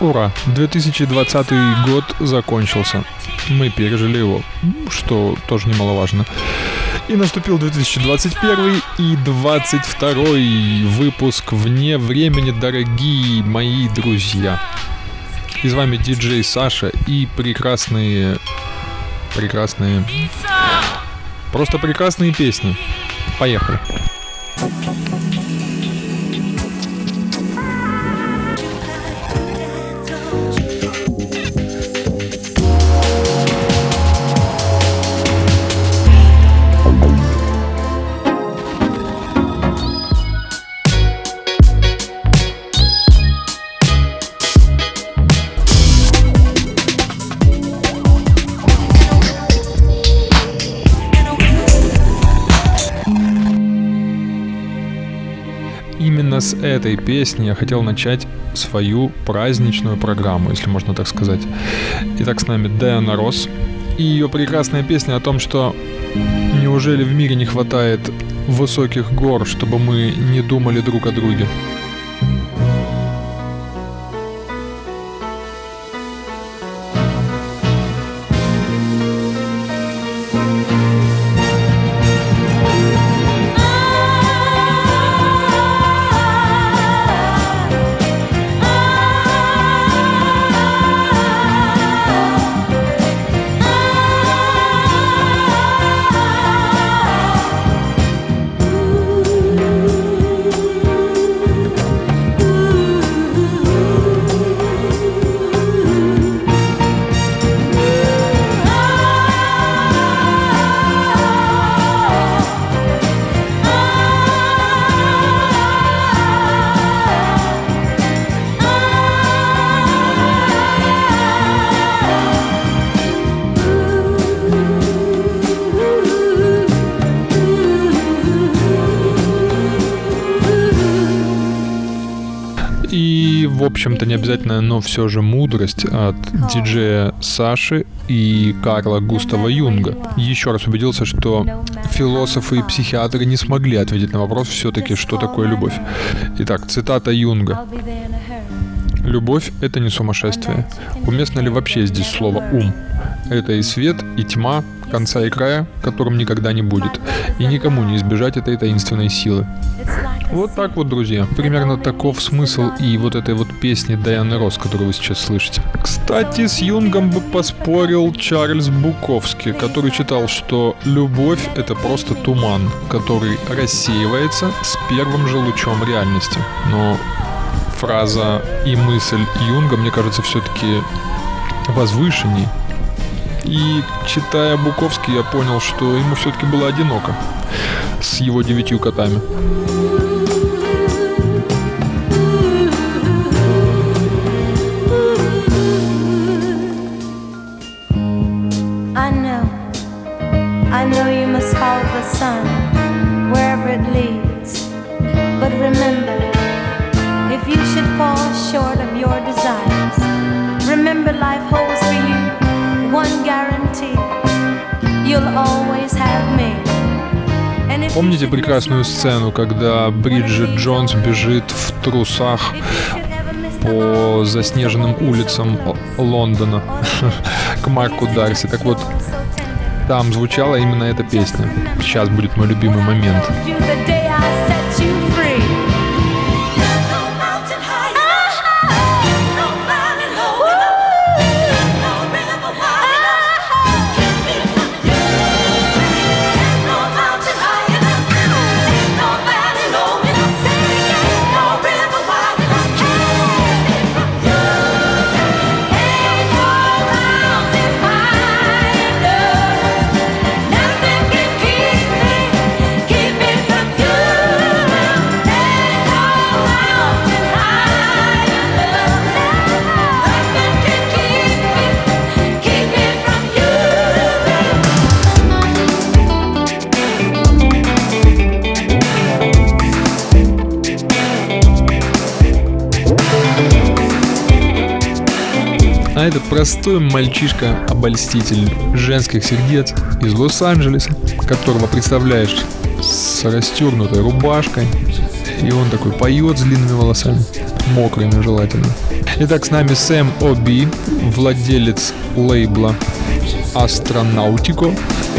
Ура! 2020 год закончился. Мы пережили его, что тоже немаловажно. И наступил 2021 и 22 выпуск «Вне времени», дорогие мои друзья. И с вами диджей Саша и прекрасные, просто прекрасные песни. Поехали. Именно с этой песни я хотел начать свою праздничную программу, если можно так сказать. Итак, с нами Диана Росс и ее прекрасная песня о том, что неужели в мире не хватает высоких гор, чтобы мы не думали друг о друге. И, в общем-то, не обязательно, но все же мудрость от диджея Саши и Карла Густава Юнга. Еще раз убедился, что философы и психиатры не смогли ответить на вопрос все-таки, что такое любовь. Итак, цитата Юнга. «Любовь — это не сумасшествие. Уместно ли вообще здесь слово «ум»? Это и свет, и тьма, конца и края, которым никогда не будет. И никому не избежать этой таинственной силы». Вот так вот, друзья. Примерно таков смысл и вот этой вот песни Дианы Росс, которую вы сейчас слышите. Кстати, с Юнгом бы поспорил Чарльз Буковский, который считал, что любовь — это просто туман, который рассеивается с первым же лучом реальности. Но фраза и мысль Юнга, мне кажется, все-таки возвышенней. И, читая Буковский, я понял, что ему все-таки было одиноко с его 9 котами. I know you must follow the sun wherever it leads. But remember, if you should fall short of your desires, remember life holds for you one guarantee. You'll always have me. Помните прекрасную сцену, когда Бриджит Джонс бежит в трусах по заснеженным улицам Лондона к Марку Дарси? Так вот, там звучала именно эта песня. Сейчас будет мой любимый момент. А это простой мальчишка-обольститель женских сердец из Лос-Анджелеса, которого представляешь с расстегнутой рубашкой, и он такой поет с длинными волосами, мокрыми желательно. Итак, с нами Сэм О'Би, владелец лейбла Astronautico.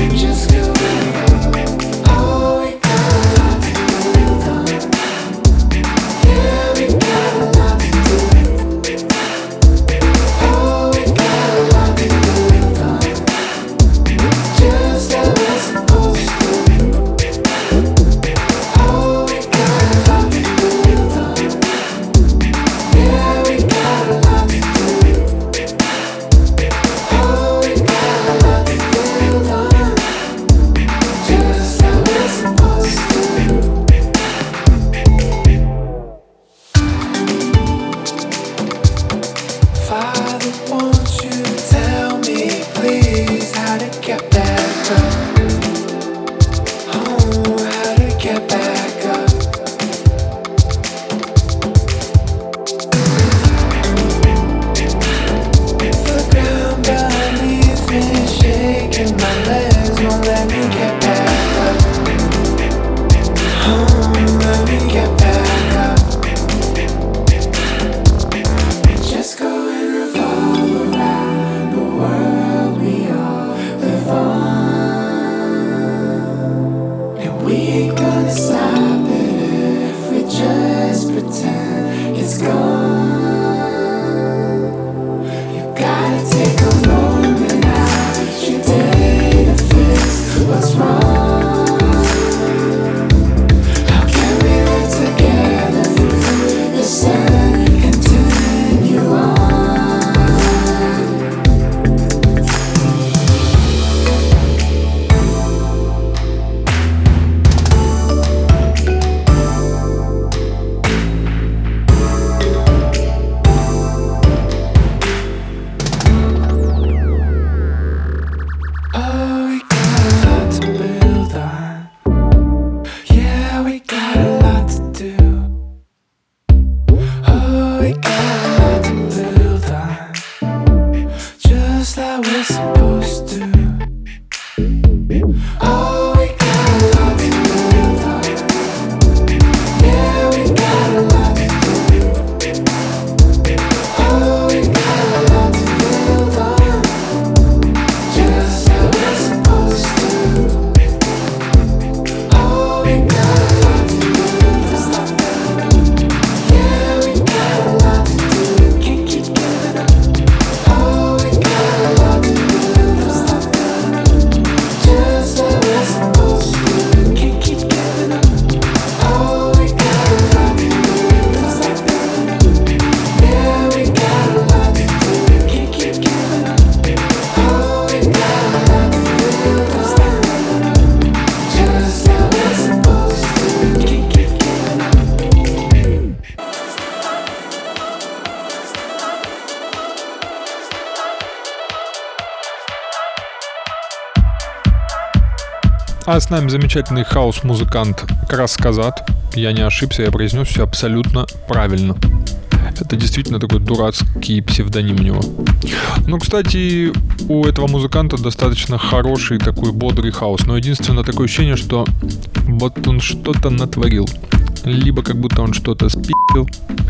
А с нами замечательный хаос-музыкант Крас Казат. Я не ошибся, я произнес все абсолютно правильно. Это действительно такой дурацкий псевдоним у него. Ну, кстати, у этого музыканта достаточно хороший такой бодрый хаос. Но единственное такое ощущение, что вот он что-то натворил. Либо как будто он что-то спи***ил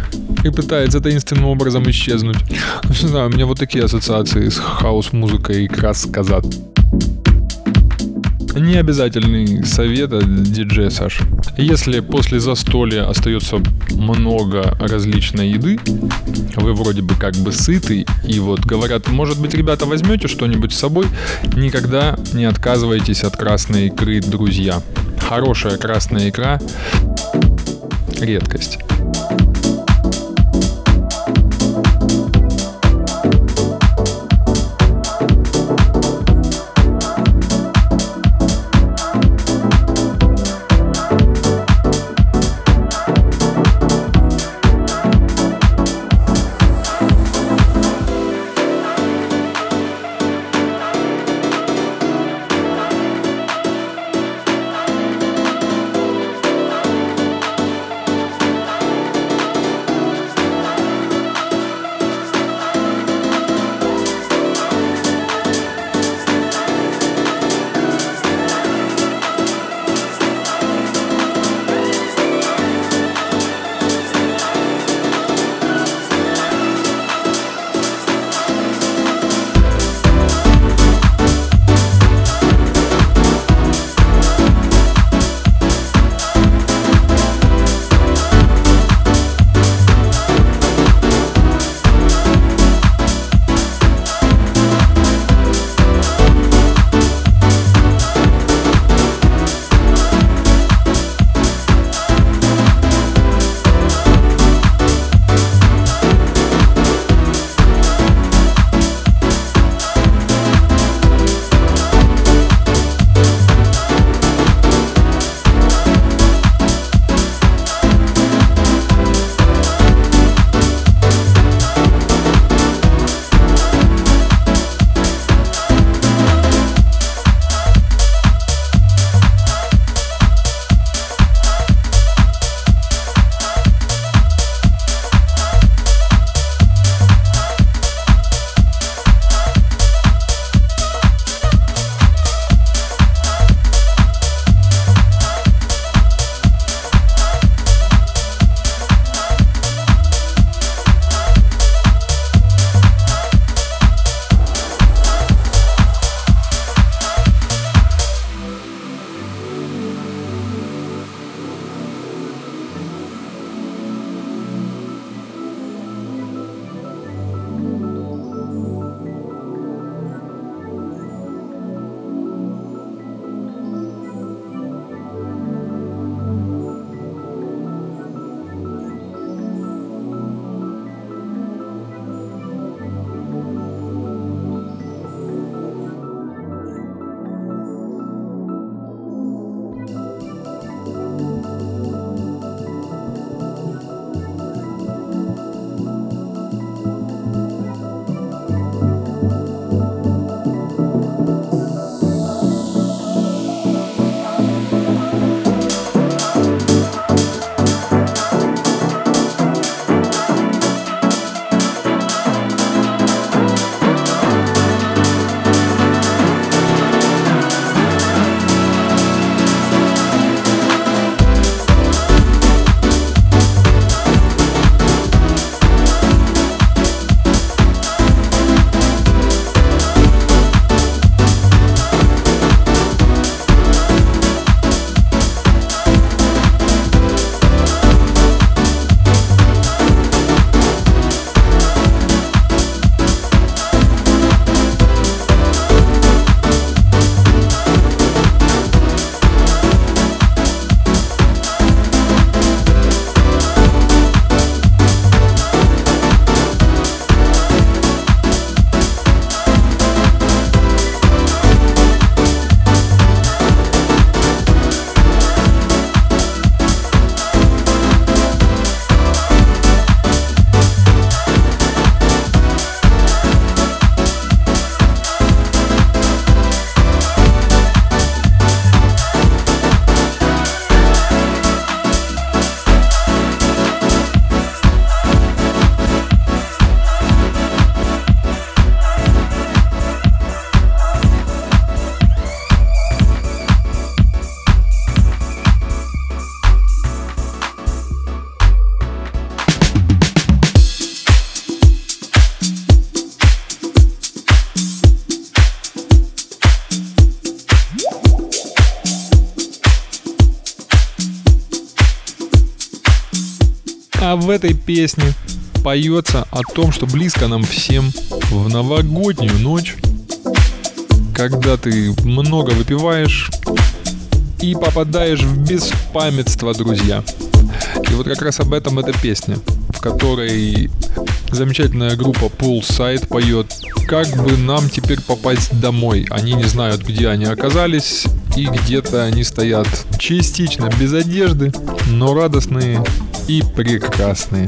и пытается таинственным образом исчезнуть. Не знаю, у меня вот такие ассоциации с хаос-музыкой Крас Казат. Необязательный совет от диджея Саши. Если после застолья остается много различной еды, вы вроде бы как бы сыты, и вот говорят, может быть, ребята, возьмете что-нибудь с собой, никогда не отказывайтесь от красной икры, друзья. Хорошая красная икра — редкость. А в этой песне поется о том, что близко нам всем в новогоднюю ночь, когда ты много выпиваешь и попадаешь в беспамятство, друзья. И вот как раз об этом эта песня, в которой замечательная группа Poolside поет, как бы нам теперь попасть домой. Они не знают, где они оказались, и где-то они стоят частично без одежды, но радостные и прекрасные.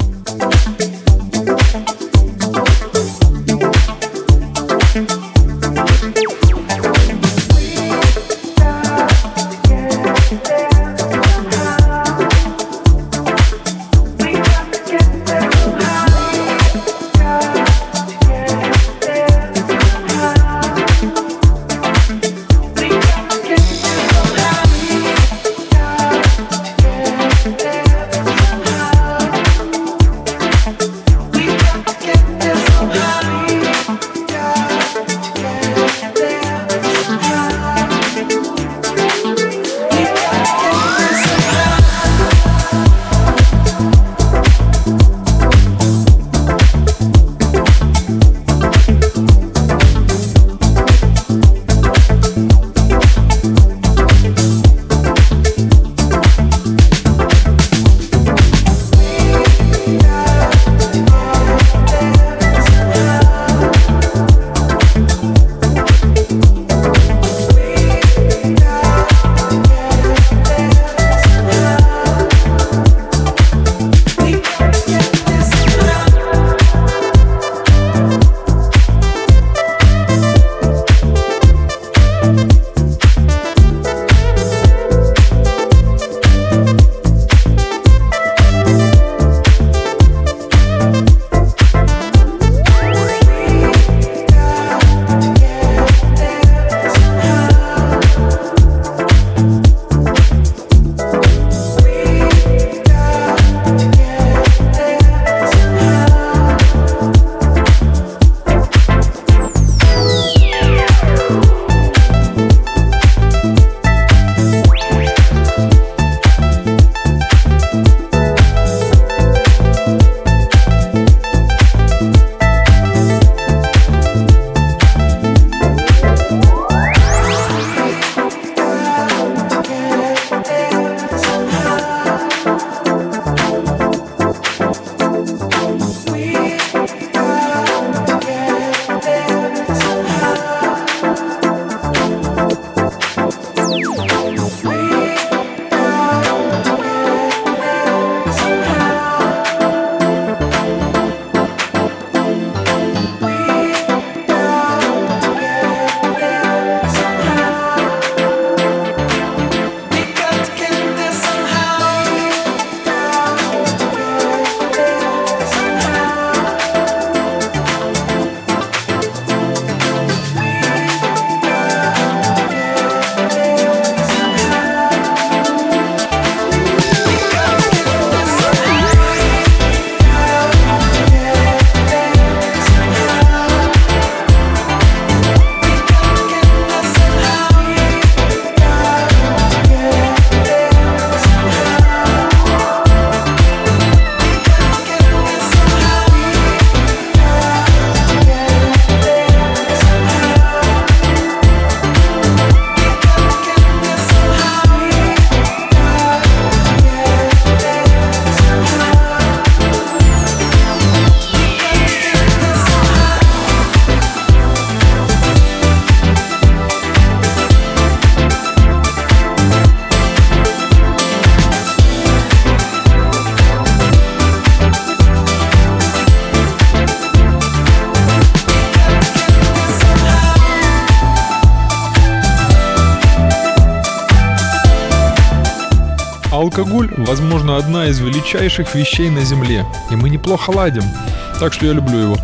Алкоголь, возможно, одна из величайших вещей на Земле, и мы неплохо ладим, так что я люблю его.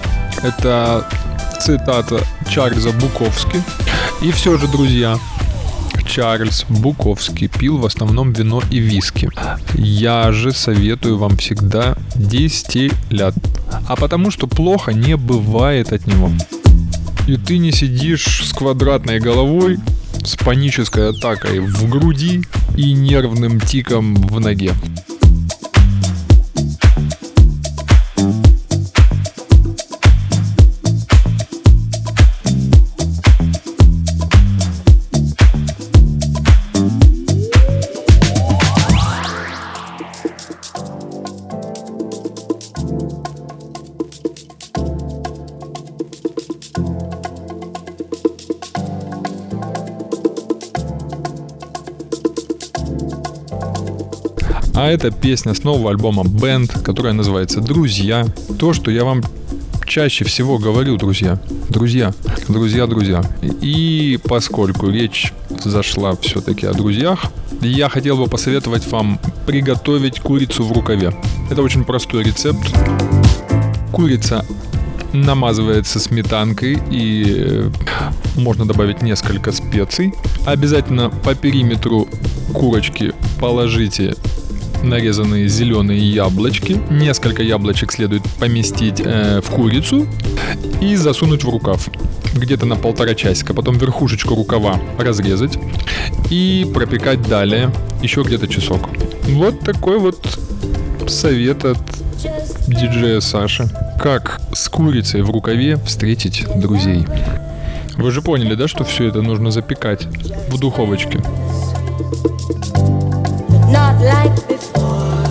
Это цитата Чарльза Буковски. И все же, друзья, Чарльз Буковский пил в основном вино и виски. Я же советую вам всегда дистиллят. А потому что плохо не бывает от него. И ты не сидишь с квадратной головой, с панической атакой в груди и нервным тиком в ноге. А это песня с нового альбома Band, которая называется «Друзья». То, что я вам чаще всего говорю, друзья. Друзья. И поскольку речь зашла все-таки о друзьях, я хотел бы посоветовать вам приготовить курицу в рукаве. Это очень простой рецепт. Курица намазывается сметанкой и можно добавить несколько специй. Обязательно по периметру курочки положите нарезанные зеленые яблочки. Несколько яблочек следует поместить в курицу и засунуть в рукав. Где-то на 1,5 часика. Потом верхушечку рукава разрезать и пропекать далее еще где-то часок. Вот такой вот совет от диджея Саши. Как с курицей в рукаве встретить друзей. Вы же поняли, да, что все это нужно запекать в духовочке? Not like before.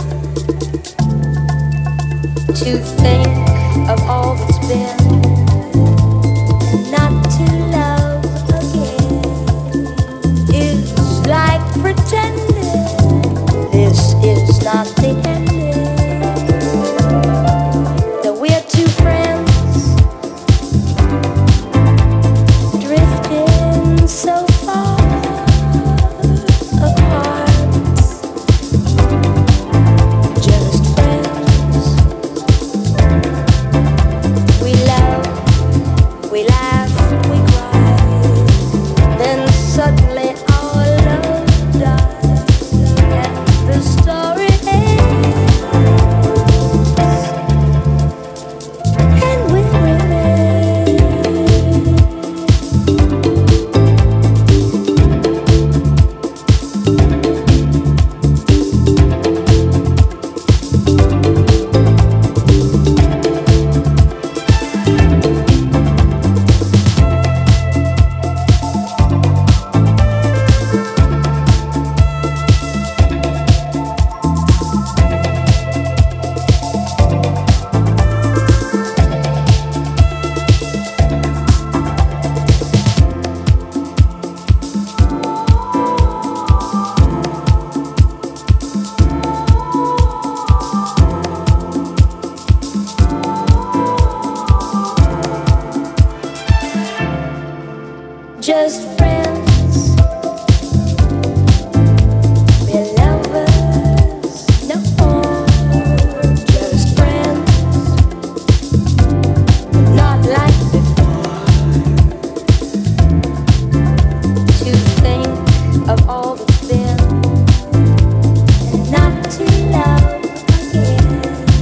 To think of all that's been, and not to love again is like pretending this is not the ending. That we're two friends drifting so far apart. Just friends, we're lovers, no more. Just friends, not like before. To think of all that's been, and not to love again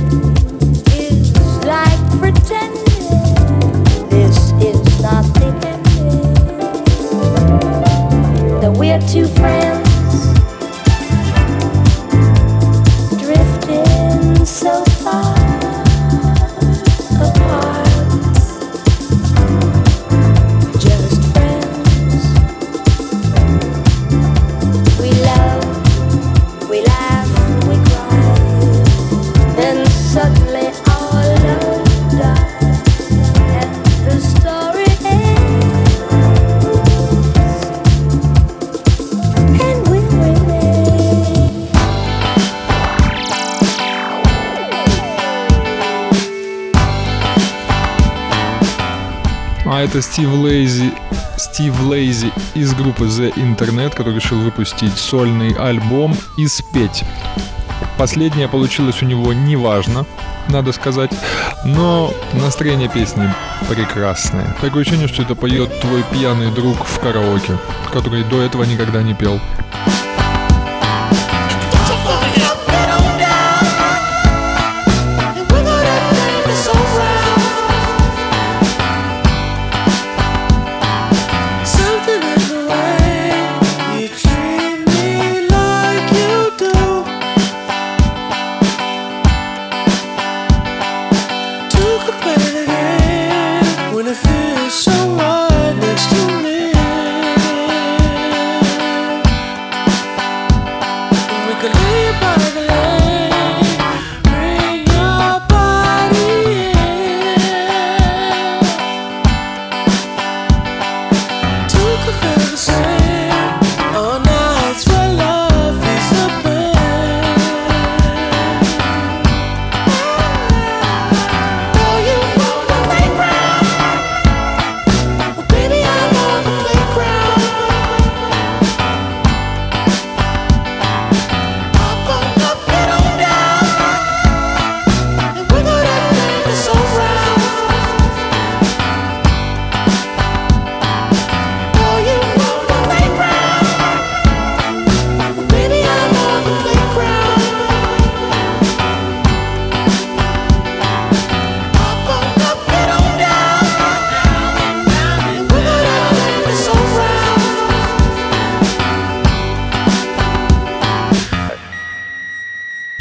is like pretending this is not the end. That we're two friends drifting so far apart. Just friends. We love, we laugh, we cry. Then suddenly our love dies and the story ends. А это Стив Лейзи из группы The Internet, который решил выпустить сольный альбом и спеть. Последнее получилось у него неважно, надо сказать, но настроение песни прекрасное. Такое ощущение, что это поет твой пьяный друг в караоке, который до этого никогда не пел. All nights where love is a burn.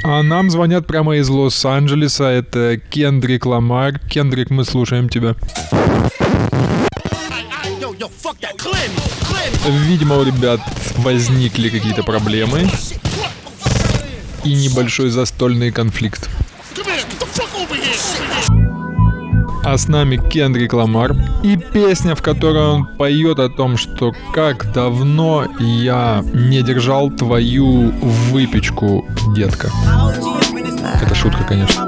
А нам звонят прямо из Лос-Анджелеса. Это Кендрик Ламар. Кендрик, мы слушаем тебя. Видимо, у ребят возникли какие-то проблемы и небольшой застольный конфликт. А с нами Кендрик Ламар и песня, в которой он поет о том, что как давно я не держал твою выпечку, детка. Это шутка, конечно.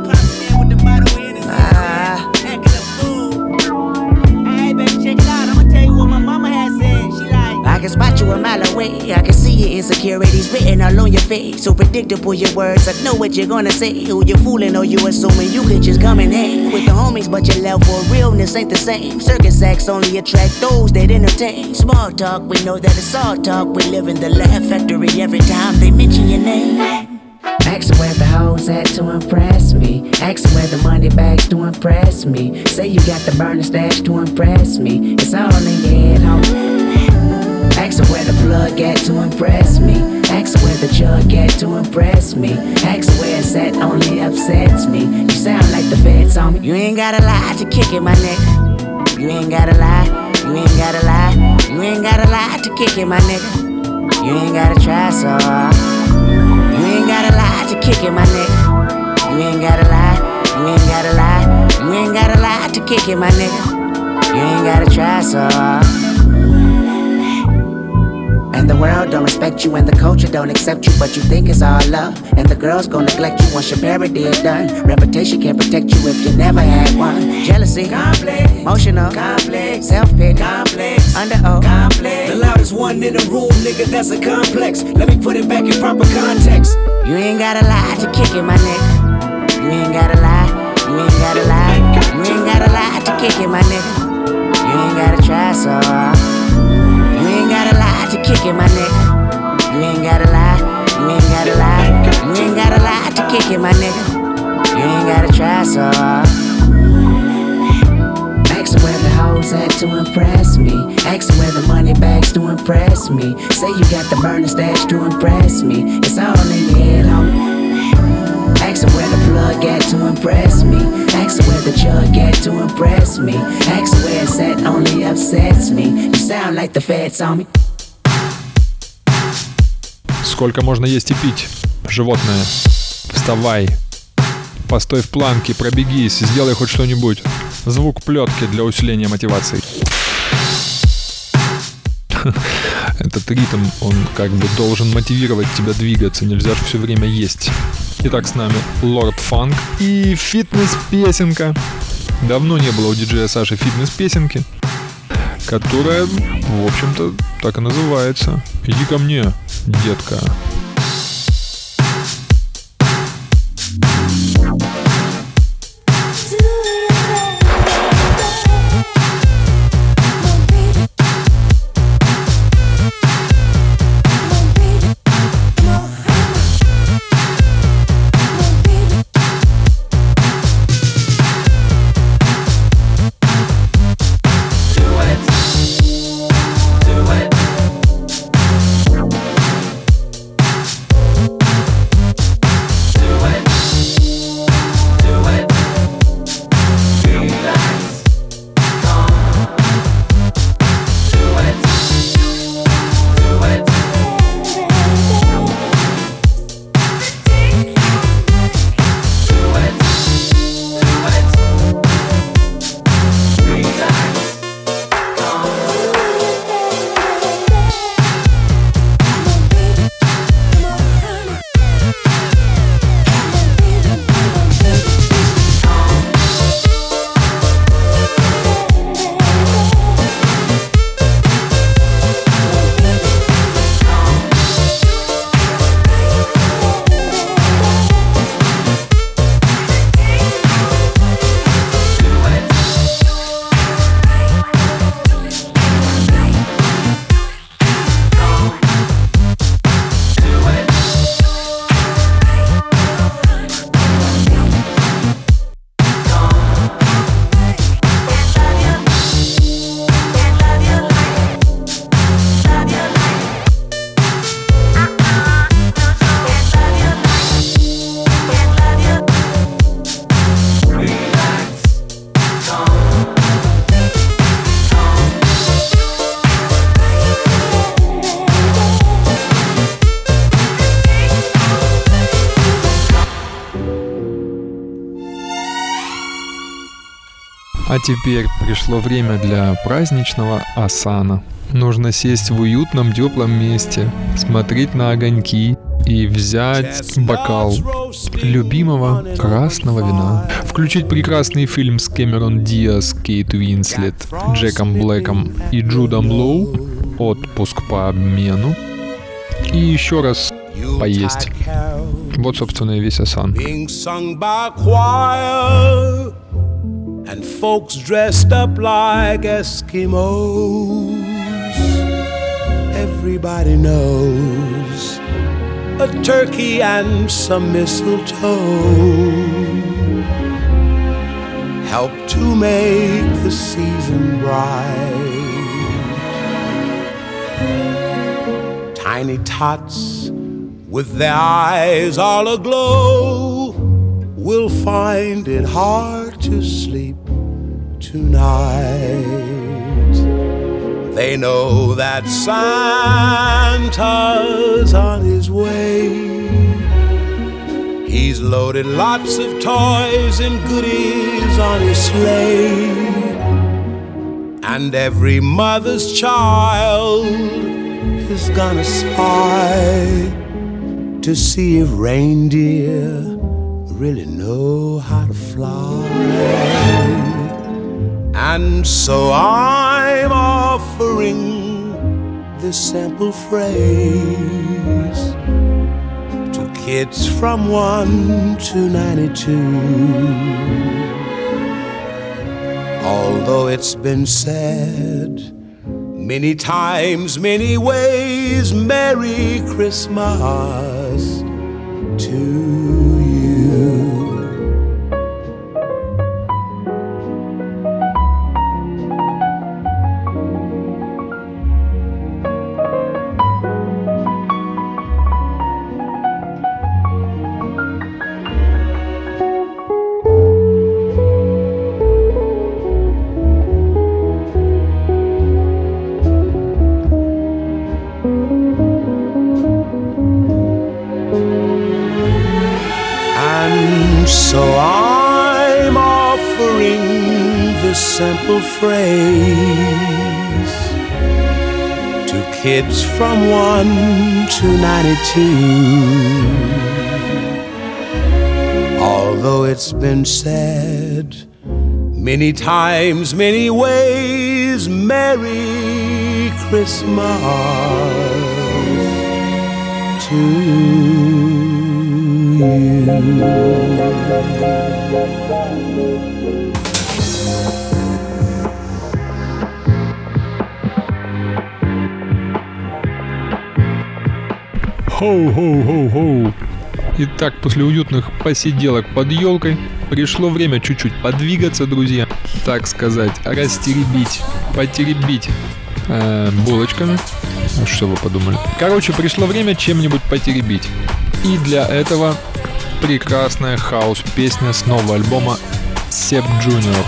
I can spot you a mile away. I can see your insecurities written all on your face. So predictable your words. I know what you're gonna say. Who you fooling or you assuming you could just come and hang with the homies, but your level of realness ain't the same. Circus acts only attract those that entertain. Small talk, we know that it's all talk. We live in the laugh factory every time they mention your name. Ask where the hoes at to impress me. Ask where the money bags to impress me. Say you got the burner stash to impress me. It's all in your head, homie. Ask where the plug at to impress me. Ask where the jug at to impress me. Ask where it's at only upsets me. You sound like the feds on me. You ain't gotta lie to kick it, my nigga. You ain't gotta lie. You ain't gotta lie. You ain't gotta lie to kick it, my nigga. You ain't gotta try so hard. You ain't gotta lie to kick it, my nigga. You ain't gotta lie. You ain't gotta lie. You ain't gotta lie to kick it, my nigga. You ain't gotta try so hard. And the world don't respect you and the culture don't accept you, but you think it's all love. And the girls gon' neglect you once your parody is done. Reputation can't protect you if you never had one. Jealousy, complex, emotional, complex, self-pity, complex, under oath, complex. The loudest one in the room, nigga, that's a complex. Let me put it back in proper context. You ain't gotta lie to kick it, my nigga. You ain't gotta lie. You ain't gotta lie. You ain't gotta lie to kick it, my nigga. You ain't gotta try so hard. You ain't gotta lie to kick it, my nigga. You ain't gotta lie. You ain't gotta lie. You ain't gotta lie to kick it, my nigga. You ain't gotta try so hard. Ask where the hoes at to impress me. Ask where the money bags to impress me. Say you got the burner stash to impress me. It's all in your head, homie. Ask where the plug at to impress me. Ask where the jug at to impress me. Ask where it's at only upsets me. You sound like the feds on me. Сколько можно есть и пить, животное? Вставай. Постой в планке, пробегись, сделай хоть что-нибудь. Звук плетки для усиления мотивации. Этот ритм, он как бы должен мотивировать тебя двигаться, нельзя же все время есть. Итак, с нами Lord Funk и фитнес-песенка. Давно не было у диджея Саши фитнес-песенки, которая, в общем-то, так и называется. Иди ко мне, детка. А теперь пришло время для праздничного асана. Нужно сесть в уютном теплом месте, смотреть на огоньки и взять бокал любимого красного вина. Включить прекрасный фильм с Кэмерон Диаз, Кейт Уинслет, Джеком Блэком и Джудом Лоу «Отпуск по обмену». И еще раз поесть. Вот, собственно, и весь асан. And folks dressed up like Eskimos. Everybody knows a turkey and some mistletoe help to make the season bright. Tiny tots with their eyes all aglow will find it hard to sleep tonight. They know that Santa's on his way. He's loaded lots of toys and goodies on his sleigh. And every mother's child is gonna spy to see if reindeer really know how to fly. And so I'm offering this simple phrase to kids from 1 to 92. Although it's been said many times, many ways, Merry Christmas to you. So I'm offering this simple phrase to kids from 1 to 92. Although it's been said many times, many ways, Merry Christmas to you. Хоу-хоу-хоу-хоу. Итак, после уютных посиделок под елкой пришло время чуть-чуть подвигаться, друзья. Так сказать, растеребить, потеребить булочками. Что вы подумали? Короче, пришло время чем-нибудь потеребить. И для этого прекрасная хаус-песня с нового альбома Seb Junior.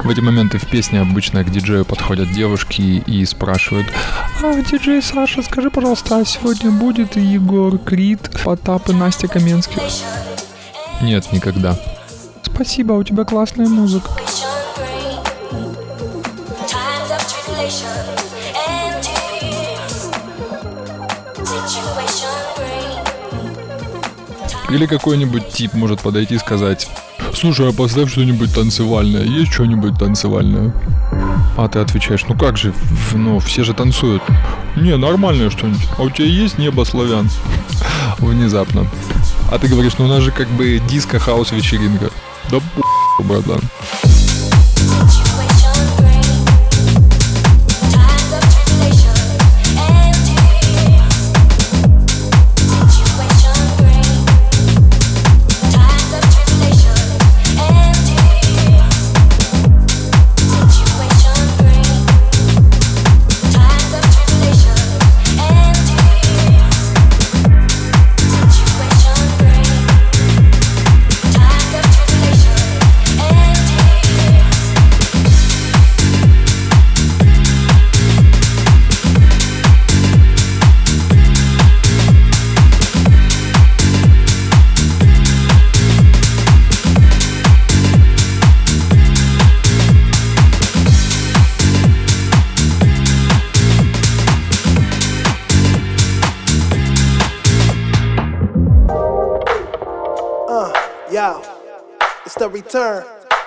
В эти моменты в песне обычно к диджею подходят девушки и спрашивают: «А, диджей Саша, скажи, пожалуйста, а сегодня будет Егор Крид, Потап и Настя Каменских?» Нет, никогда. Спасибо, у тебя классная музыка. Или какой-нибудь тип может подойти и сказать: «Слушай, а поставь что-нибудь танцевальное, есть что-нибудь танцевальное?» А ты отвечаешь: «Ну как же, все же танцуют». «Не, нормальное что-нибудь. А у тебя есть «Небо славян»?» Внезапно. А ты говоришь: «Ну у нас же как бы диско-хаус-вечеринка». Да братан. Yo, it's the return.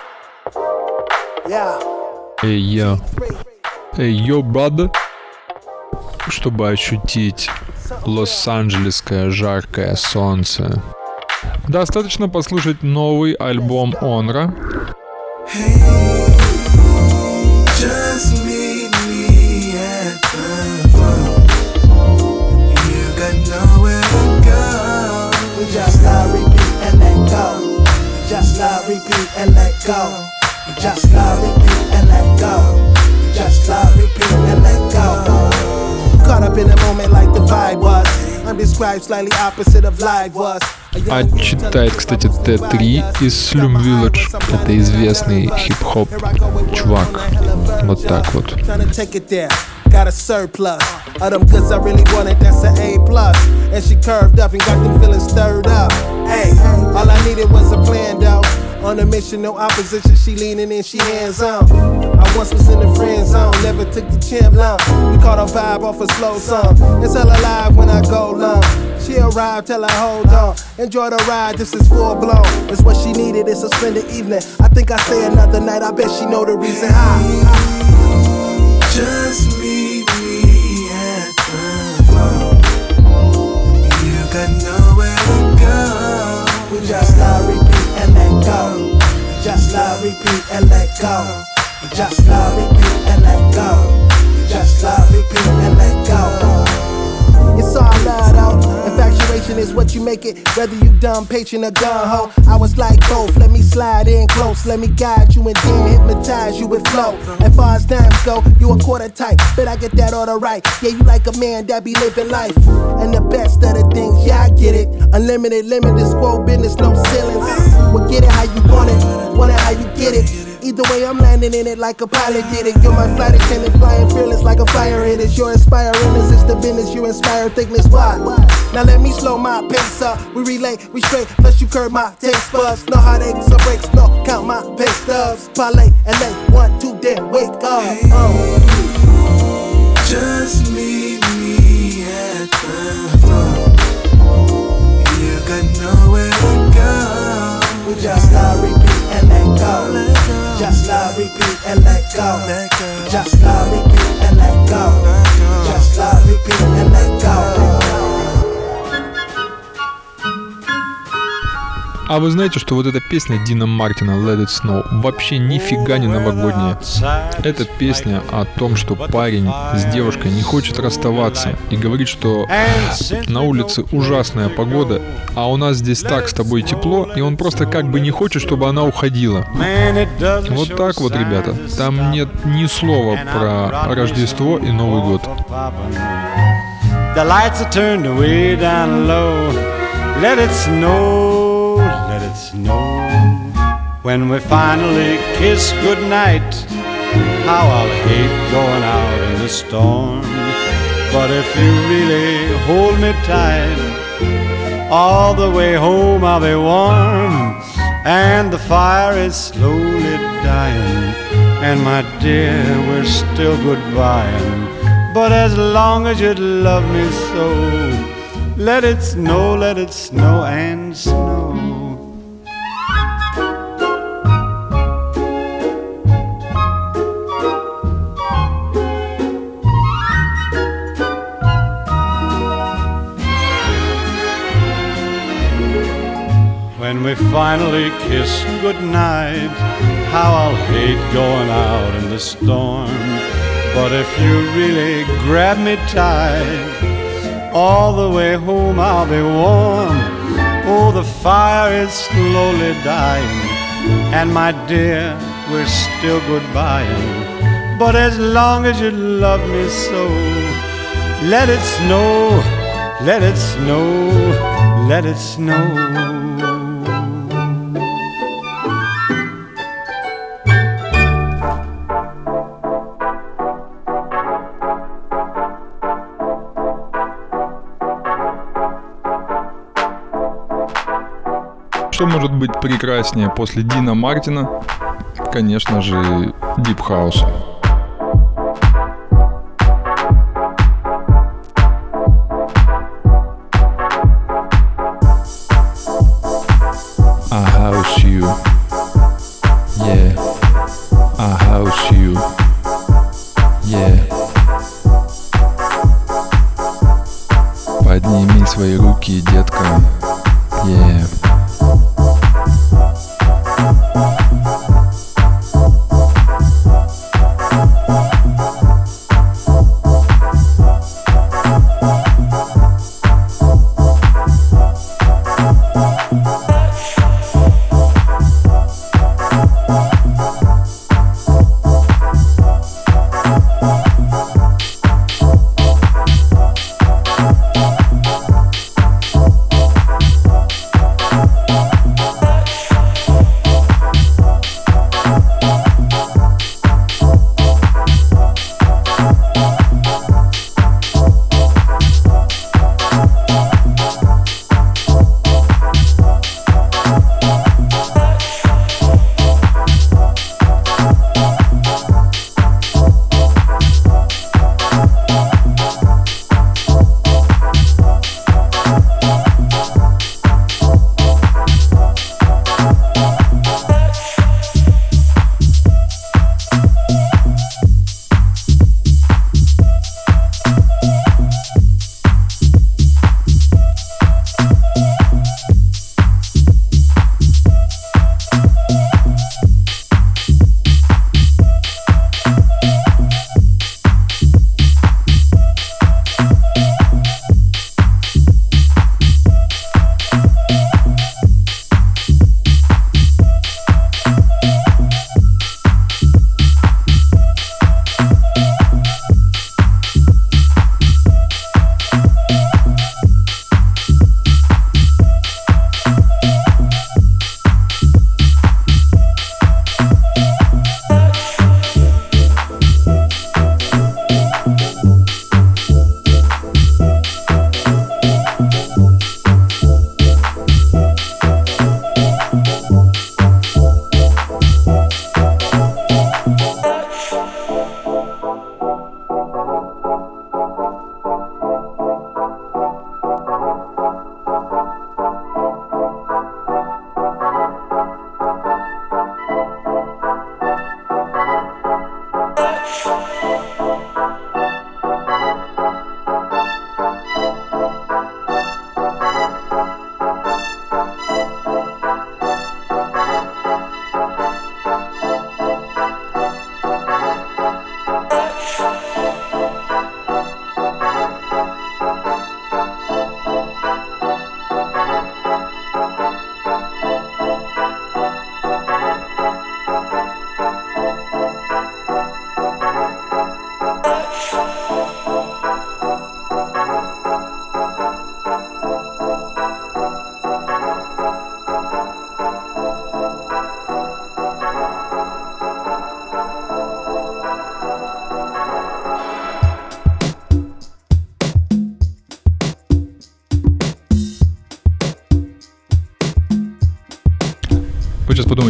Yeah. Эй, йо, брат. Чтобы ощутить лос-анджелесское жаркое солнце, достаточно послушать новый альбом Онра. Just love, repeat, and let go. Just love, repeat, and let go. Just love, repeat, and let go. Caught up in a moment like the vibe was. I'm described slightly opposite of live was. А читает, кстати, Т3 из Slum Village. Это известный хип-хоп чувак. Вот так вот. Got a surplus of them goods I really wanted, that's an A+. And she curved up and got them feeling stirred up. Hey, all I needed was a plan though. On a mission, no opposition, she leaning in, she hands on. I once was in the friend zone, never took the champ long. We caught a vibe off a slow song. It's hella live when I go long. She arrived, tell her hold on. Enjoy the ride, this is full blown. It's what she needed, it's a splendid evening. I think I stay another night, I bet she know the reason how. Just meet me at the floor. You got nowhere to go. We just love, repeat, and let go. Just love, repeat, and let go. Just love, repeat, and let go. Just love, repeat, and let go. It's all love though. Infatuation is what you make it. Whether you dumb, patient, or gun-ho. I was like both. Let me slide in close. Let me guide you and then hypnotize you with flow. As far as dimes go, you a quarter type. Bet I get that order right. Yeah, you like a man that be living life. And the best of the things, yeah, I get it. Unlimited, limited, squirrel business, no ceilings. Well, get it how you want it how you get it. Either way, I'm landing in it like a pilot did it. You're my flight attendant, flying fearless like a fire hit it. You're inspiring us, it's the business, you inspire thickness. Why? Now let me slow my pace up. We relay, we straight, plus you curve my taste buds. No heartaches or breaks, no, count my pay stubs. Parlay and lay, 1, 2, then wake up. Just meet me at the floor. You got nowhere to go. We just love, repeat, and let go. Just love, repeat, and let go. Just love, repeat, and let go. Just love, repeat, and let go. А вы знаете, что вот эта песня Дина Мартина «Let It Snow» вообще нифига не новогодняя. Это песня о том, что парень с девушкой не хочет расставаться и говорит, что на улице ужасная погода, а у нас здесь так с тобой тепло, и он просто как бы не хочет, чтобы она уходила. Вот так вот, ребята. Там нет ни слова про Рождество и Новый год. The lights are turned way down low. Let it snow, let it snow. When we finally kiss goodnight, how I'll hate going out in the storm. But if you really hold me tight, all the way home I'll be warm. And the fire is slowly dying, and my dear, we're still goodbying. But as long as you love me so, let it snow and snow. When we finally kiss goodnight, how I'll hate going out in the storm. But if you really grab me tight, all the way home I'll be warm. Oh, the fire is slowly dying, and my dear, we're still goodbying. But as long as you love me so, let it snow, let it snow, let it snow. Что может быть прекраснее после Дина Мартина? Конечно же, Deep House. I house you. Yeah. I house you. Yeah. Подними свои руки, детка. Yeah.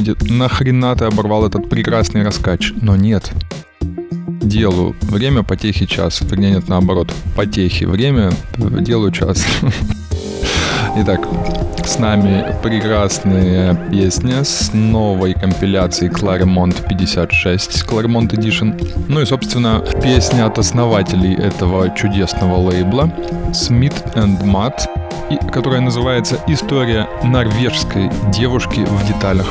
думаете, нахрена ты оборвал этот прекрасный раскач? Но нет. Делу время, потехи час. Вернее, нет, наоборот. Потехи время, делу час. Итак, с нами прекрасная песня с новой компиляции Clairmont 56, Clairmont Edition. Ну и, собственно, песня от основателей этого чудесного лейбла Smith and Matt, которая называется «История норвежской девушки в деталях».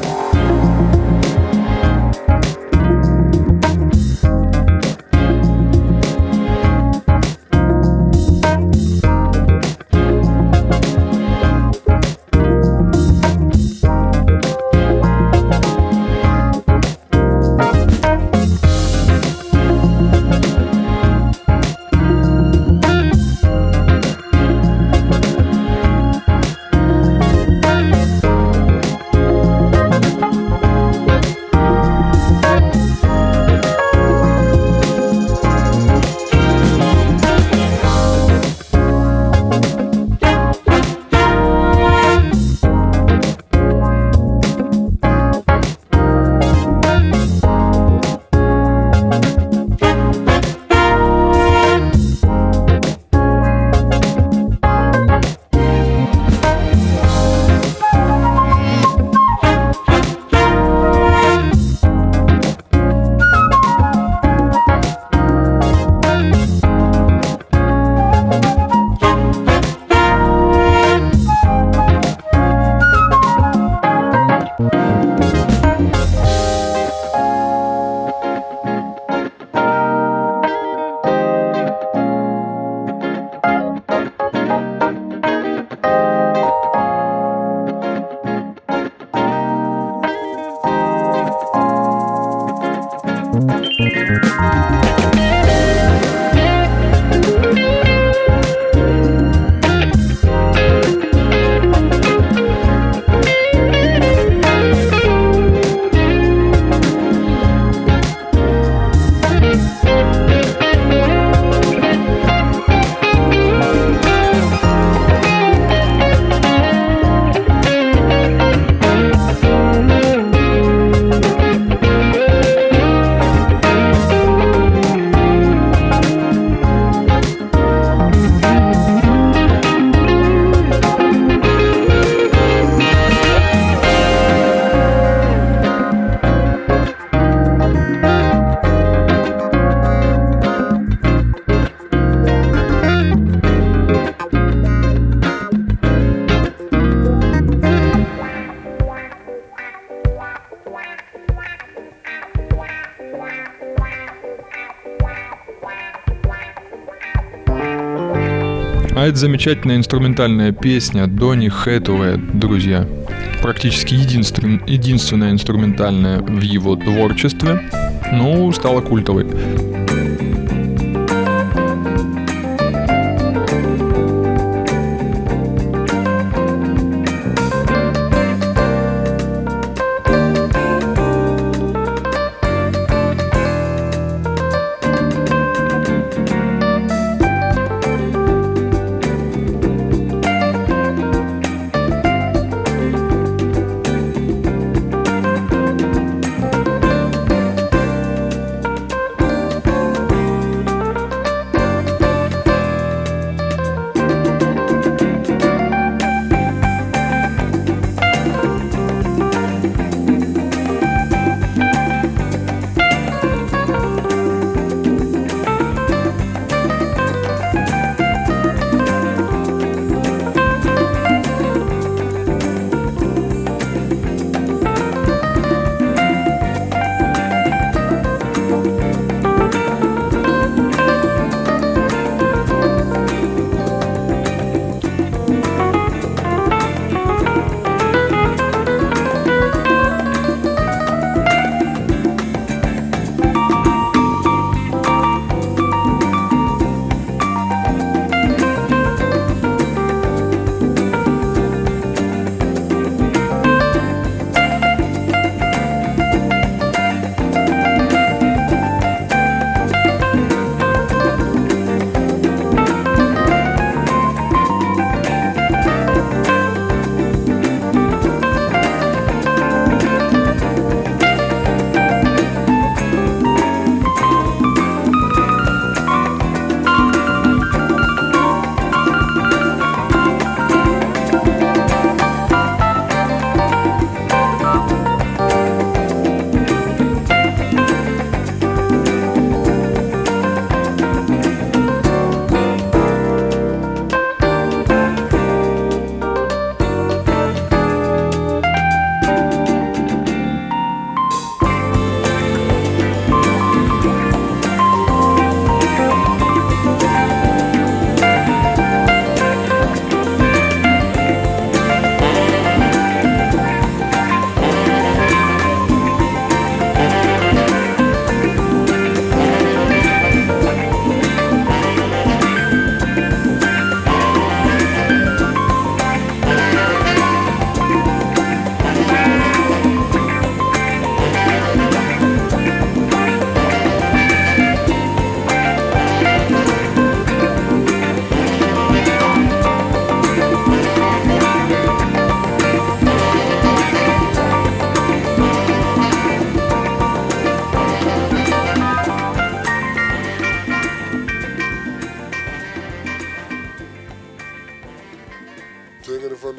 А это замечательная инструментальная песня Донни Хэтэуэя, друзья. Практически единственная инструментальная в его творчестве, но стала культовой.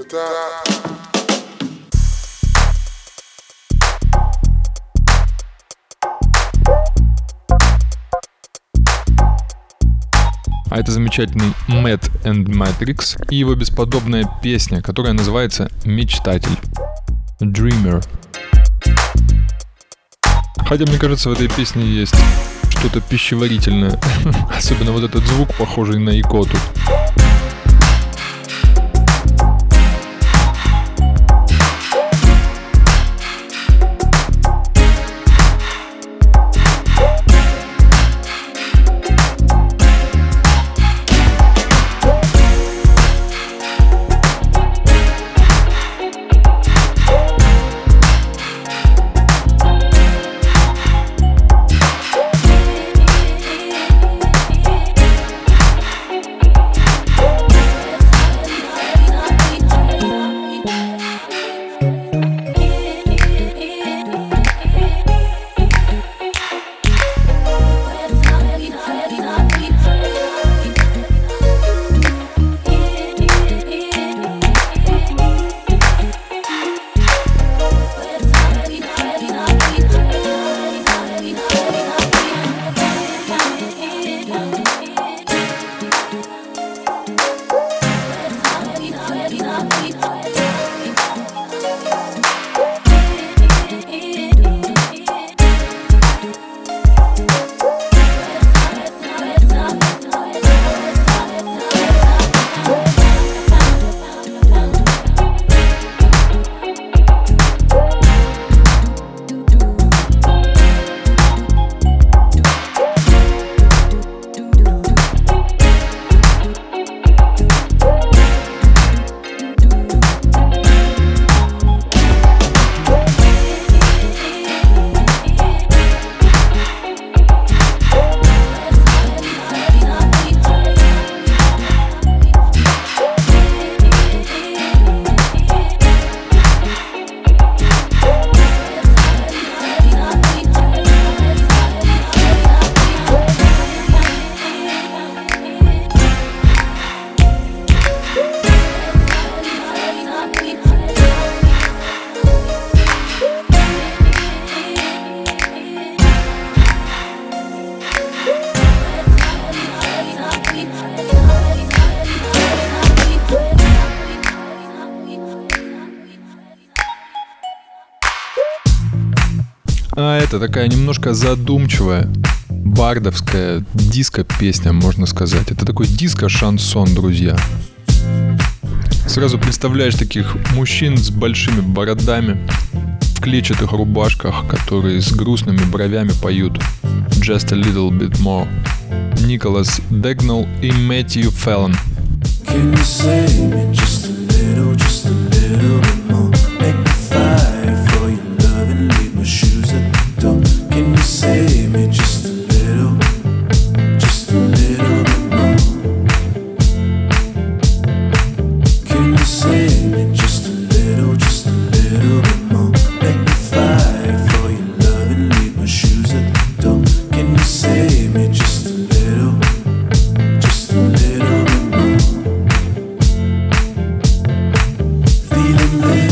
А это замечательный Matt and Matrix и его бесподобная песня, которая называется «Мечтатель» Dreamer. Хотя, мне кажется, в этой песне есть что-то пищеварительное. Особенно вот этот звук, похожий на икоту. А это такая немножко задумчивая, бардовская диско-песня, можно сказать. Это такой диско-шансон, друзья. Сразу представляешь таких мужчин с большими бородами, в клетчатых рубашках, которые с грустными бровями поют «Just a little bit more». Николас Дегнелл и Мэтью Феллон. Can you save me just a little bit more? Make me fight for your love and leave my shoes at the door. Can you save me just a little bit more? Can you save me just a little bit more? Make me fight for your love and leave my shoes at the door. Can you save me just a little bit more? Feeling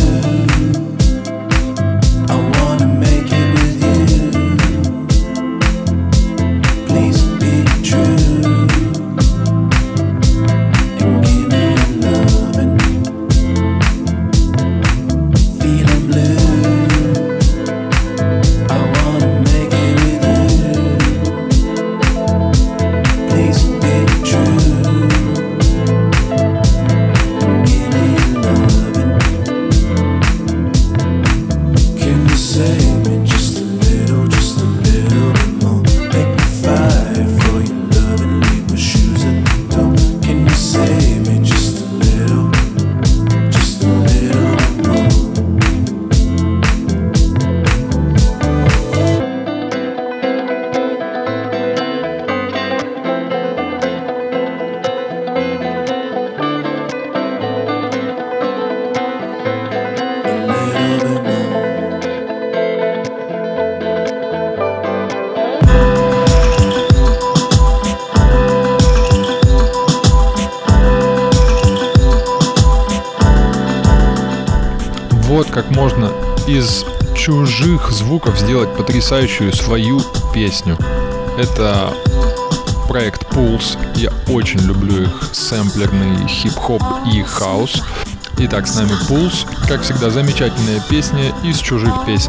Вот как можно из чужих звуков сделать потрясающую свою песню. Это проект Pulse. Я очень люблю их сэмплерный хип-хоп и хаус. Итак, с нами Pulse. Как всегда, замечательная песня из чужих песен.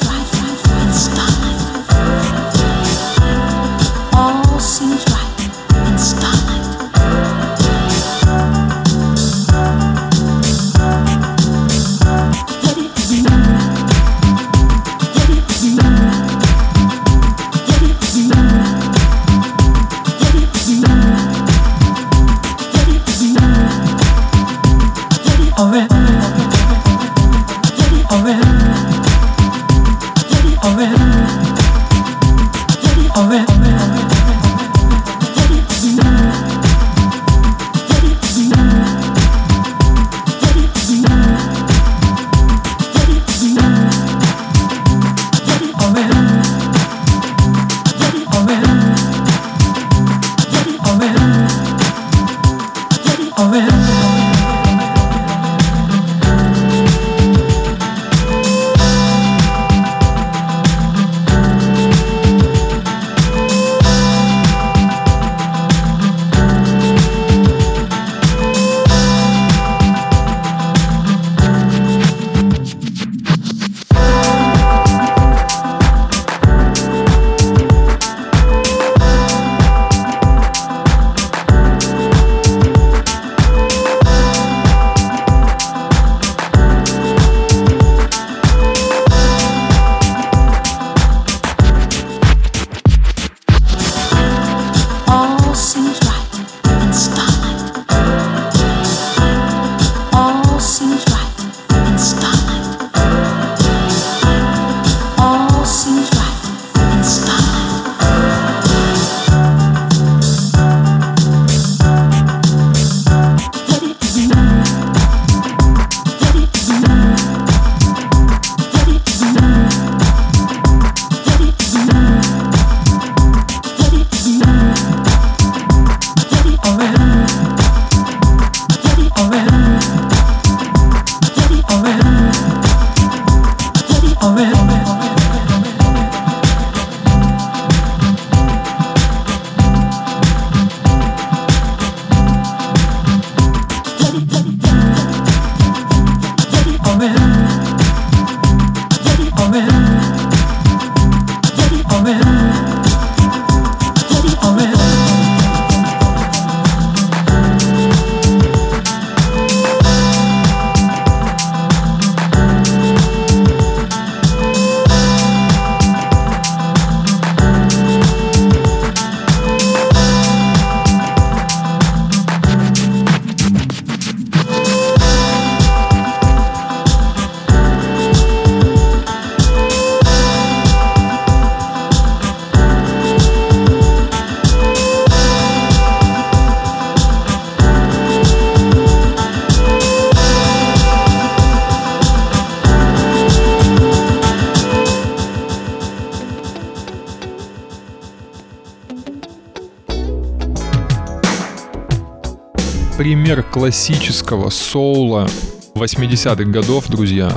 Пример классического соула 80-х годов, друзья,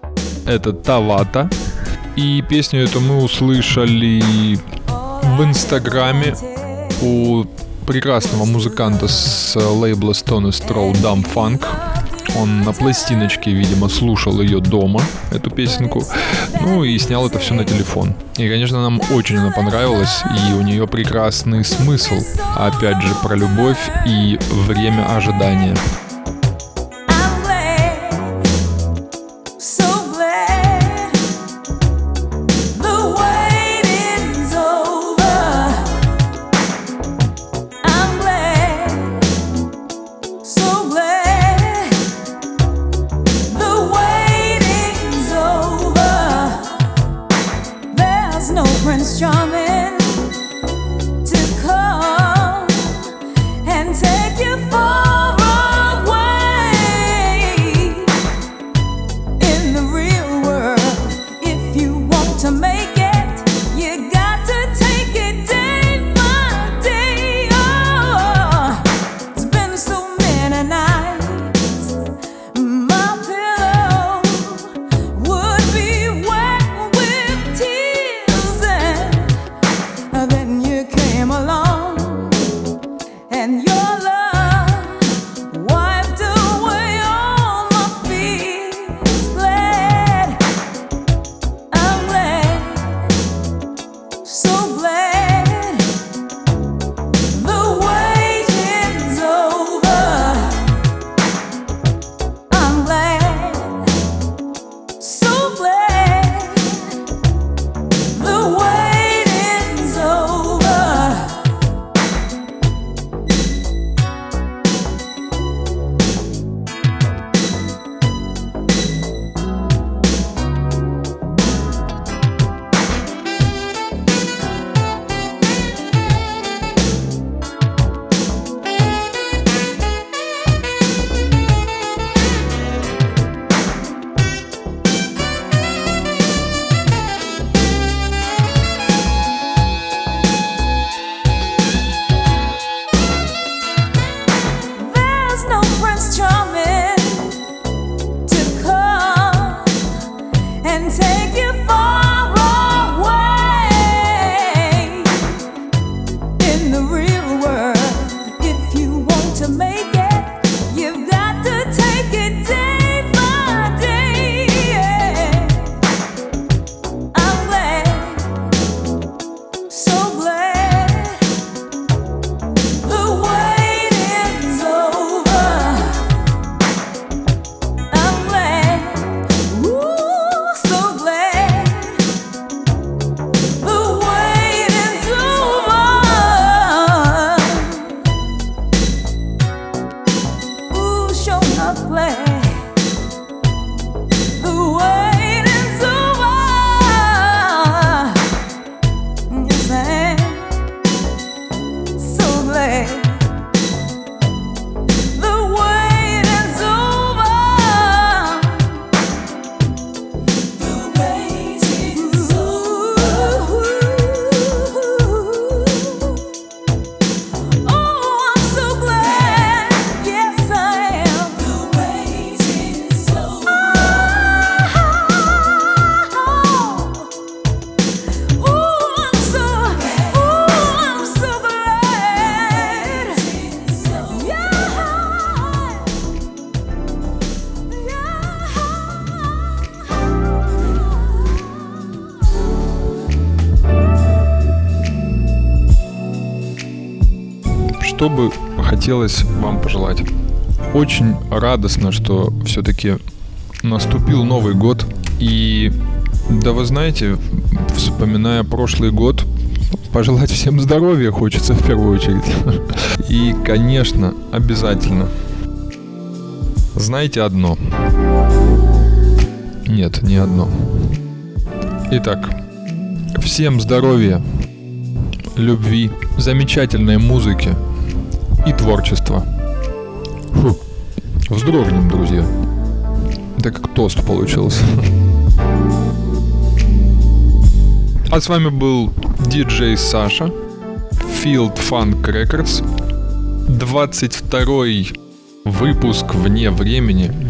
это Тавата. И песню эту мы услышали в Инстаграме у прекрасного музыканта с лейбла Stones Throw Dumb Funk. Он на пластиночке, видимо, слушал ее дома, эту песенку, ну и снял это все на телефон. И, конечно, нам очень она понравилась, и у нее прекрасный смысл, опять же, про любовь и время ожидания. Take you for a что бы хотелось вам пожелать? Очень радостно, что все-таки наступил Новый год. И да вы знаете, вспоминая прошлый год, пожелать всем здоровья хочется в первую очередь. И, конечно, обязательно. Знаете одно? Нет, не одно. Итак, всем здоровья, любви, замечательной музыки и творчества. Фу, вздрогнем, друзья. Это как тост получился. А с вами был диджей Саша, Field Funk Records, 22-й выпуск вне времени.